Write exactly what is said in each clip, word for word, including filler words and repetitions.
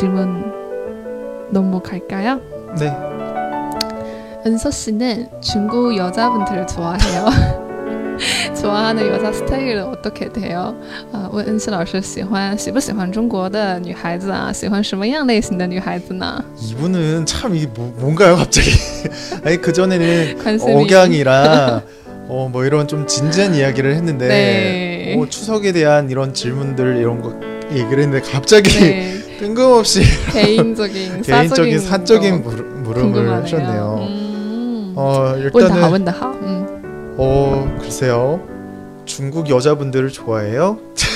질문 넘어갈까요? 네. 은서 씨는 중국 여자분들을 좋아해요. 좋아하는 여자 스타일은 어떻게 돼요?啊，问恩熙老师喜欢喜不喜欢中国的女孩子啊？喜欢什么样类型的女孩子呢？ 이분은 참 이게 뭐, 뭔가요 갑자기? 아니 그 전에는 관심이- 억양이랑 어, 뭐 이런 좀 진지한 이야기를 했는데 네. 어, 추석에 대한 이런 질문들 이런 거 얘기를 했는데 갑자기 네. 뜬금없이 개인적인 개인적인 사적인 거 물, 물음을 궁금하네요. 하셨네요. 음. 어, 问得好 일단은 问得好 음. 어, 글쎄요. 중국 여자분들을 좋아해요?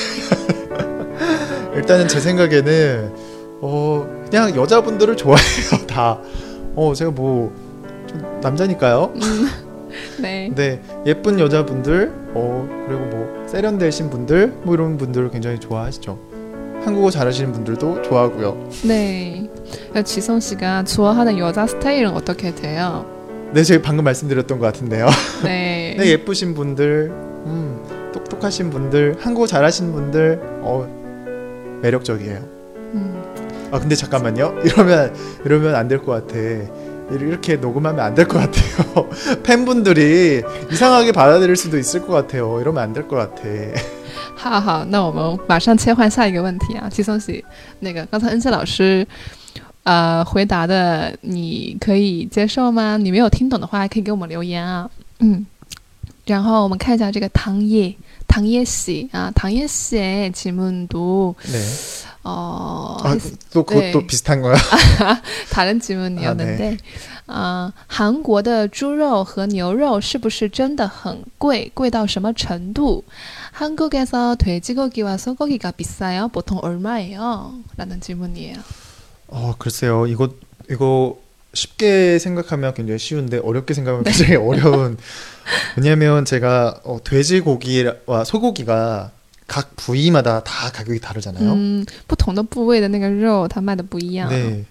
일단은 제 생각에는 어, 그냥 여자분들을 좋아해요. 다. 어, 제가 뭐 좀 남자니까요. 음. 네. 네, 예쁜 여자분들, 어, 그리고 뭐 세련되신 분들, 뭐 이런 분들을 굉장히 좋아하시죠. 한국어 잘하시는 분들도 좋아하고요. 네. 지성 씨가 좋아하는 여자 스타일은 어떻게 돼요? 네, 제가 방금 말씀드렸던 것 같은데요. 네. 네, 예쁘신 분들, 음, 똑똑하신 분들, 한국어 잘하시는 분들, 어, 매력적이에요. 음. 아, 근데 잠깐만요. 이러면 이러면 안 될 것 같아. 이렇게 녹음하면 안 될 것 같아요. 팬분들이 이상하게 받아들일 수도 있을 것 같아요. 이러면 안 될 것 같아. 好好，那我们马上切换下一个问题啊，季松喜，那个刚才恩熙老师，呃，回答的你可以接受吗？你没有听懂的话，还可以给我们留言啊。嗯，然后我们看一下这个唐叶，唐叶喜啊，唐叶씨의 질문도 네. 어, 아, 또 그것도 네. 비슷한 거야? 다른 질문이었는데, 아, 韩国的猪肉和牛肉是不是真的很贵？贵到什么程度？ 한국에서 돼지고기와 소고기가 비싸요? 보통 얼마예요? 라는 질문이에요. 어, 글쎄요. 이거 이거 쉽게 생각하면 굉장히 쉬운데 어렵게 생각하면 굉장히 어려운. 왜냐하면 제가 어, 돼지고기와 소고기가 각 부위마다 다 가격이 다르잖아요. 嗯，不同的部位的那个肉，它卖的不一样。 네.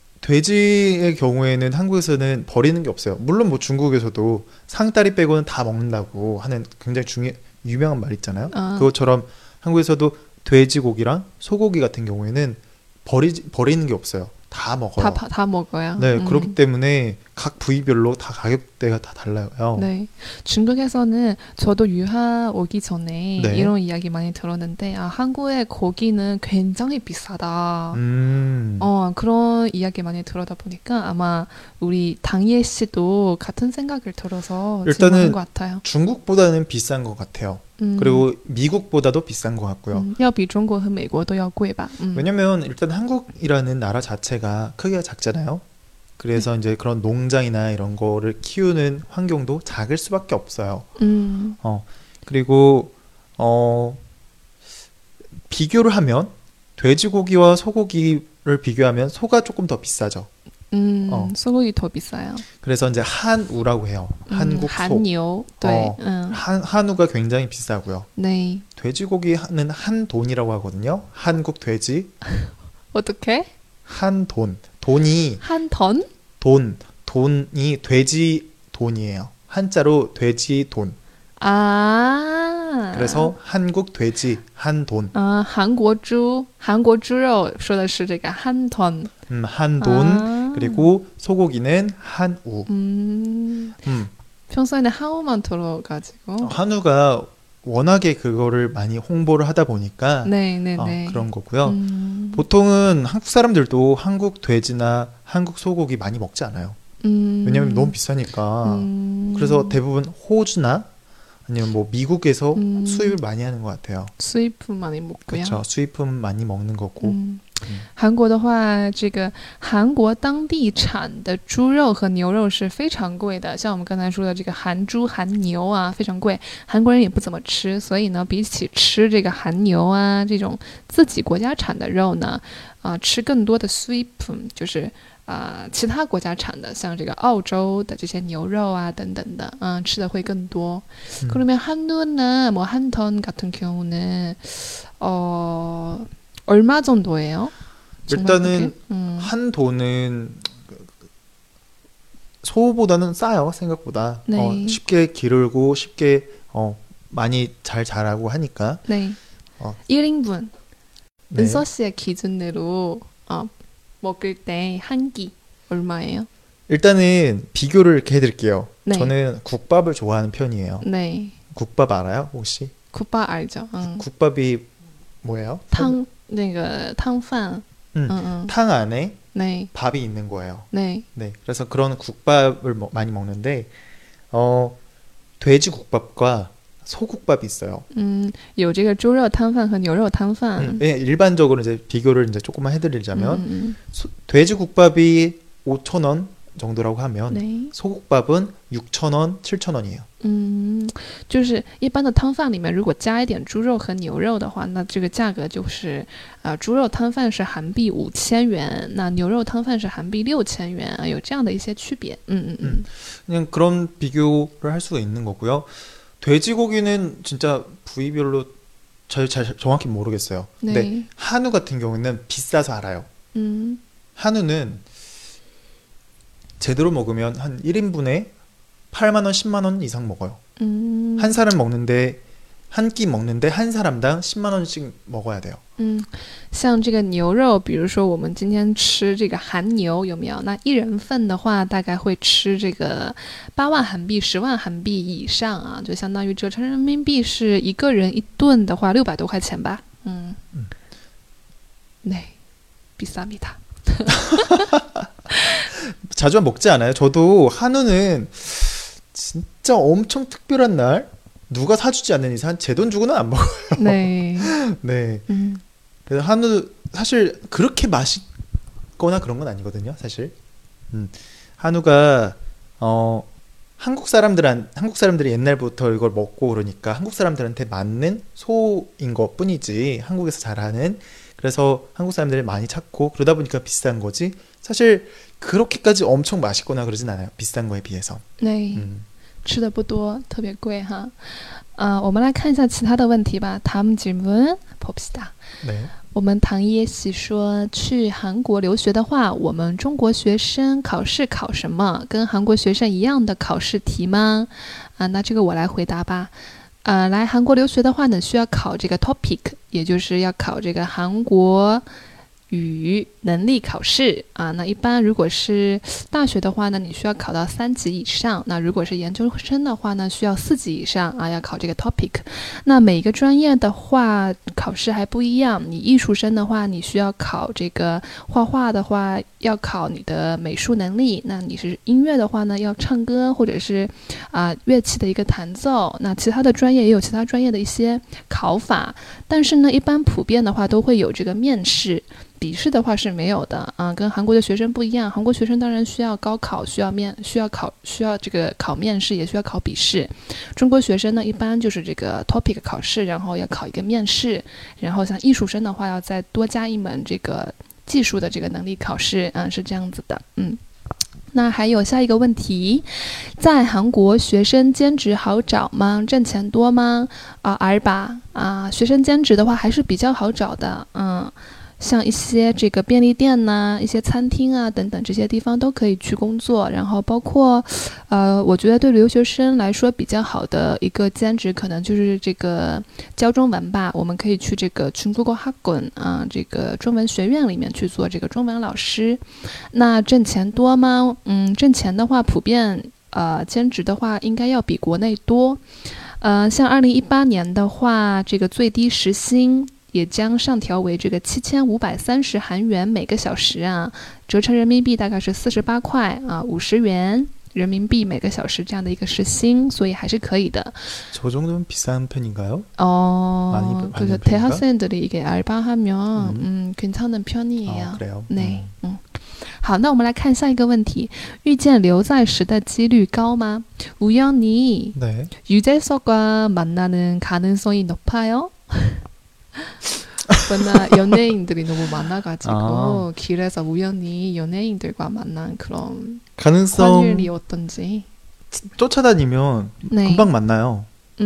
돼지의 경우에는 한국에서는 버리는 게 없어요. 물론 뭐 중국에서도 상다리 빼고는 다 먹는다고 하는 굉장히 중요 유명한 말 있잖아요. 아. 그것처럼 한국에서도 돼지고기랑 소고기 같은 경우에는 버리 버리는 게 없어요. 다 먹어요. 다, 다, 다 먹어요. 네, 음. 그렇기 때문에 각 부위별로 다 가격대가 다 달라요. 네. 중국에서는 저도 유학 오기 전에 네. 이런 이야기 많이 들었는데, 아, 한국의 고기는 굉장히 비싸다. 음. 어, 그런 이야기 많이 들어다 보니까 아마 우리 당예 씨도 같은 생각을 들어서 일단은 질문한 것 같아요. 중국보다는 비싼 것 같아요. 음. 그리고 미국보다도 비싼 것 같고요. 음, 要比中国和美国都要贵吧. 음. 왜냐면 일단 한국이라는 나라 자체가 크기가 작잖아요. 그래서 이제 그런 농장이나 이런 거를 키우는 환경도 작을 수밖에 없어요. 음. 어, 그리고 어, 비교를 하면 돼지고기와 소고기를 비교하면 소가 조금 더 비싸죠. 음, 어. 소고기 더 비싸요. 그래서 이제 한우라고 해요. 한국 소. 韩牛, 네. 어. 음. 한, 한우가 굉장히 비싸고요. 네. 돼지고기는 한 돈이라고 하거든요. 한국 돼지. 어떻게? 한 돈. 돈이 한 턴? 돈. 돈이 돼지 돈이에요. 한자로 돼지 돈. 아. 그래서 한국 돼지 한 돈. 啊，韩国猪，韩国猪肉说的是这个한 턴. 음, 한 돈. 아. 그리고 소고기는 한우. 음. 음. 평소에는 한우만 들어가지고. 한우가 워낙에 그거를 많이 홍보를 하다 보니까 네, 네, 어, 네. 그런 거고요. 음. 보통은 한국 사람들도 한국 돼지나 한국 소고기 많이 먹지 않아요. 음. 왜냐면 너무 비싸니까. 음. 그래서 대부분 호주나 아니면 뭐 미국에서 음. 수입을 많이 하는 것 같아요. 수입품 많이 먹고요. 그렇죠. 수입품 많이 먹는 거고. 嗯 음. 韩国的话，这个韩国当地产的猪肉和牛肉是非常贵的，像我们刚才说的这个韩猪、韩牛啊，非常贵，韩国人也不怎么吃，所以呢，比起吃这个韩牛啊这种自己国家产的肉呢，啊、呃，吃更多的 수입품，就是啊、呃、其他国家产的，像这个澳洲的这些牛肉啊等等的，嗯、呃，吃的会更多。 음. 그러면 한우나 뭐 한 턴 같은 경우는 어 얼마 정도예요? 일단은 음. 한 돈은 소보다는 싸요. 생각보다. 네. 어, 쉽게 기르고 쉽게 어, 많이 잘 자라고 하니까. 네. 어. 일 인분. 네. 은서 씨의 기준으로 어, 먹을 때 한 끼 얼마예요? 일단은 비교를 이렇게 해드릴게요. 네. 저는 국밥을 좋아하는 편이에요. 네. 국밥 알아요, 혹시? 국밥 알죠? 응. 국밥이 뭐예요? 汤那个汤饭. 음, 응, 응. 탕 안에 네. 밥이 있는 거예요. 네. 네, 그래서 그런 국밥을 먹- 많이 먹는데 어, 돼지 국밥과 소국밥이 있어요. 嗯，有这个猪肉汤饭和牛肉汤饭。 음, 예, 일반적으로 이제 비교를 이제 조금만 해드리자면 嗯 소- 돼지 국밥이 오천 원 정도라고 하면 对， 소국밥은 육천 원, 칠천 원이에요. 嗯，就是一般的汤饭里面，如果加一点猪肉和牛肉的话，那这个价格就是，呃，猪肉汤饭是韩币五千元，那牛肉汤饭是韩币六千元，啊有这样的一些区别。嗯嗯嗯， 그냥 그런 비교를 할 수가 있는 거고요. 돼지고기는 진짜 부위별로 잘, 잘 정확히 모르겠어요. 근데 네. 한우 같은 경우는 비싸서 알아요. 嗯 한우는 제대로 먹으면 한 일 인분에 팔만 원, 십만 원 이상 먹어요. 嗯 한 사람 먹는데 한 끼 먹는데 한 사람당 십만 원씩 먹어야 돼요. 嗯，像这个牛肉，比如说我们今天吃这个韩牛，有没有？那一人份的话，大概会吃这个八万韩币、十万韩币以上啊，就相当于折成人民币是一个人一顿的话，六百多块钱吧。嗯， 嗯， 네， 비쌉니다. 자주 먹지 않아요? 저도 한우는 진짜 엄청 특별한 날 누가 사주지 않는 이상 제 돈 주고는 안 먹어요. 네. 네. 음. 그래서 한우 사실 그렇게 맛있거나 그런 건 아니거든요. 사실. 음, 한우가 어 한국 사람들한 한국 사람들이 옛날부터 이걸 먹고 그러니까 한국 사람들한테 맞는 소인 것 뿐이지 한국에서 잘하는 그래서 한국 사람들이 많이 찾고 그러다 보니까 비싼 거지 사실 그렇게까지 엄청 맛있거나 그러진 않아요. 비싼 거에 비해서. 네. 음. 吃的不多，特别贵哈。啊、我们来看一下其他的问题吧。다음 질문 봅시다. 네. 我们唐耶喜说，去韩国留学的话，我们中国学生考试考什么？跟韩国学生一样的考试题吗？啊，那这个我来回答吧。呃，来韩国留学的话呢，需要考这个 topic， 也就是要考这个韩国语能力考试啊。那一般如果是大学的话呢，你需要考到三级以上；那如果是研究生的话呢，需要四级以上啊，要考这个 topic。那每个专业的话，考试还不一样。你艺术生的话，你需要考这个画画的话，要考你的美术能力；那你是音乐的话呢，要唱歌或者是啊、乐器的一个弹奏。那其他的专业也有其他专业的一些考法，但是呢，一般普遍的话都会有这个面试。笔试的话是没有的啊，跟韩国的学生不一样。韩国学生当然需要高考，需要面，需要考，需要这个考面试，也需要考笔试。中国学生呢，一般就是这个 topic 考试，然后要考一个面试，然后像艺术生的话，要再多加一门这个技术的这个能力考试，嗯，是这样子的，嗯。那还有下一个问题，在韩国学生兼职好找吗？挣钱多吗？啊，尔吧啊，学生兼职的话还是比较好找的，嗯。像一些这个便利店呐、一些餐厅啊等等这些地方都可以去工作，然后包括，呃，我觉得对留学生来说比较好的一个兼职，可能就是这个教中文吧。我们可以去这个중국어학원啊，这个中文学院里面去做这个中文老师。那挣钱多吗？嗯，挣钱的话，普遍呃兼职的话应该要比国内多。呃，像二零一八年的话，这个最低时薪也将上调为这个七千五百三十韩元每个小时啊，折成人民币大概是四十八块啊，五十元人民币每个小时这样的一个时薪，所以还是可以的。 저 정도면 비싼 편인가요? 어, 많이- 그래서 많이 대학생들이 이게 알바하면 음. 음, 괜찮은 편이에요. 아, 그래요? 对， 음. 嗯，好，那我们来看下一个问题：遇见刘在石的几率高吗？우연히 네. 유재석과 만나는 가능성이 높아요? 워낙 연예인들이 너무 많아가지고 아. 길에서 우연히 연예인들과 만난 그런 가능성 확률이 어떤지. 쫓아다니면 네. 금방 만나요.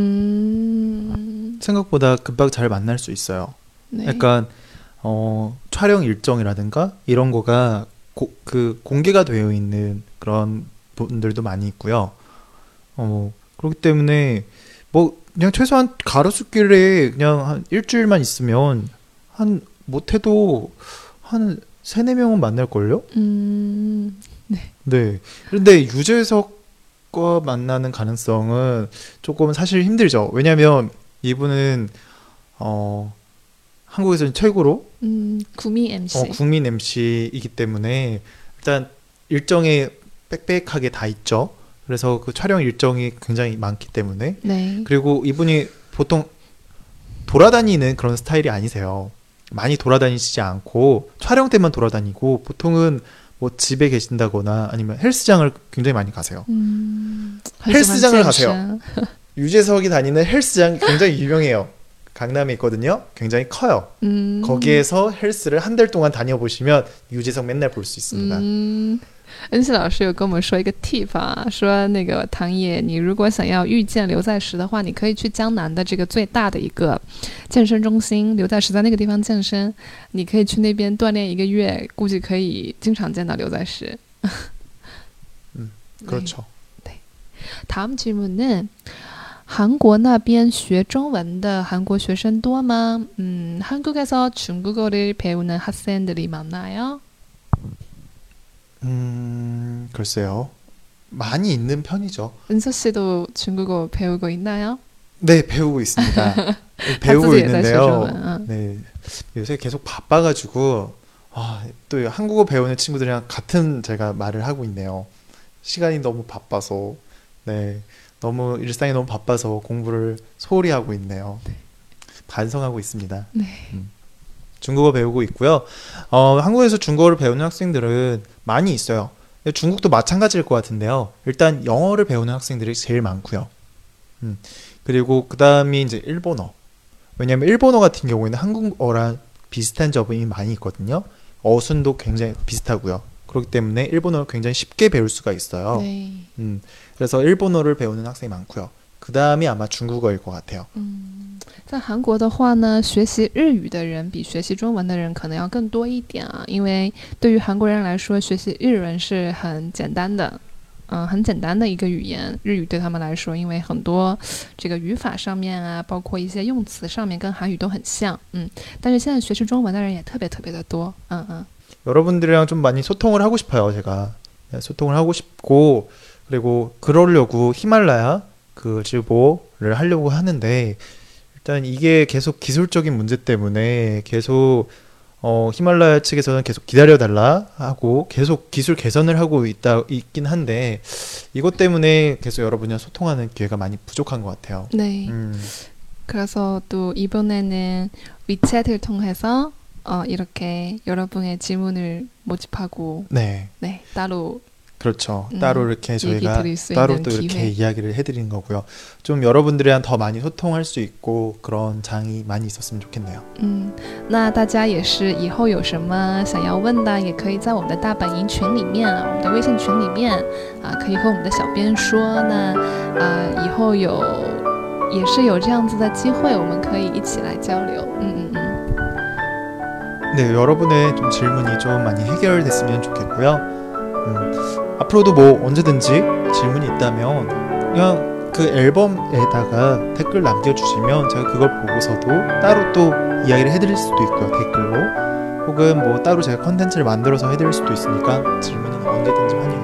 음. 생각보다 금방 잘 만날 수 있어요. 네. 약간 어, 촬영 일정이라든가 이런 거가 고, 그 공개가 되어 있는 그런 분들도 많이 있고요. 어, 그렇기 때문에 뭐 그냥 최소한 가로수길에 그냥 한 일주일만 있으면 한 못해도 한 세네 명은 만날걸요? 음, 네. 그런데 유재석과 만나는 가능성은 조금 사실 힘들죠. 왜냐면 이분은 어, 한국에서는 최고로 음, 구미 엠씨. 어, 국민 엠씨이기 때문에 일단 일정이 빽빽하게 다 있죠. 그래서 그 촬영 일정이 굉장히 많기 때문에 네. 그리고 이분이 보통 돌아다니는 그런 스타일이 아니세요. 많이 돌아다니시지 않고 촬영 때만 돌아다니고 보통은 뭐 집에 계신다거나 아니면 헬스장을 굉장히 많이 가세요. 음, 헬스장을 很喜欢 가세요. 健身 유재석이 다니는 헬스장 굉장히 유명해요. 강남에 있거든요. 굉장히 커요. 嗯 거기에서 헬스를 한 달 동안 다녀보시면 유재석 맨날 볼 수 있습니다. 嗯，恩熙老师有跟我们说一个 tip 啊，说那个唐爷，你如果想要遇见刘在石的话，你可以去江南的这个最大的一个健身中心，刘在石在那个地方健身，你可以去那边锻炼一个月，估计可以经常见到刘在石。 음, 그렇죠. 다음 질문은 한국那边学中文的韩国学生多吗? 음, 한국에서 중국어를 배우는 학생들이 많나요? 음, 글쎄요. 많이 있는 편이죠. 은서 씨도 중국어 배우고 있나요? 네, 배우고 있습니다. 배우고 있는데요. 아. 네, 요새 계속 바빠가지고 아, 또 한국어 배우는 친구들이랑 같은 제가 말을 하고 있네요. 시간이 너무 바빠서 네, 너무 일상이 너무 바빠서 공부를 소홀히 하고 있네요. 반성하고 있습니다. 네. 음. 중국어 배우고 있고요. 어, 한국에서 중국어를 배우는 학생들은 많이 있어요. 중국도 마찬가지일 것 같은데요. 일단 영어를 배우는 학생들이 제일 많고요. 음. 그리고 그 다음이 이제 일본어. 왜냐하면 일본어 같은 경우에는 한국어랑 비슷한 점이 많이 있거든요. 어순도 굉장히 비슷하고요. 그렇기 때문에 일본어를 굉장히 쉽게 배울 수가 있어요. 네. 음, 그래서 일본어를 배우는 학생이 많고요. 그 다음이 아마 중국어일 것 같아요. 嗯，在韩国的话呢，学习日语的人比学习中文的人可能要更多一点啊，因为对于韩国人来说，学习日文是很简单的，嗯，很简单的一个语言。日语对他们来说，因为很多这个语法上面啊，包括一些用词上面跟韩语都很像，嗯。但是现在学习中文的人也特别特别的多，嗯嗯。 여러분들이랑 좀 많이 소통을 하고 싶어요, 제가. 네, 소통을 하고 싶고, 그리고 그러려고 히말라야 그 지보를 하려고 하는데, 일단 이게 계속 기술적인 문제 때문에 계속, 어, 히말라야 측에서는 계속 기다려달라 하고, 계속 기술 개선을 하고 있다, 있긴 한데, 이것 때문에 계속 여러분이랑 소통하는 기회가 많이 부족한 것 같아요. 네. 음, 그래서 또 이번에는 위챗을 통해서 어, 이렇게 여러분의 질문을 모집하고 네. 네, 따로 그렇죠. 음, 따로 이렇게 저희가 드릴 수 따로 있는 또 이렇게 기회. 이야기를 해드리는 거고요. 좀 여러분들이랑 더 많이 소통할 수 있고 그런 장이 많이 있었으면 좋겠네요. 嗯，那大家也是以后有什么想要问的，也可以在我们的大本营群里面啊，我们的微信群里面啊，可以和我们的小编说。那啊，以后有也是有这样子的机会，我们可以一起来交流。嗯嗯嗯。 네, 여러분의 좀 질문이 좀 많이 해결됐으면 좋겠고요. 음, 앞으로도 뭐 언제든지 질문이 있다면 그냥 그 앨범에다가 댓글 남겨주시면 제가 그걸 보고서도 따로 또 이야기를 해드릴 수도 있고요, 댓글로. 혹은 뭐 따로 제가 컨텐츠를 만들어서 해드릴 수도 있으니까 질문은 언제든지 환영합니다.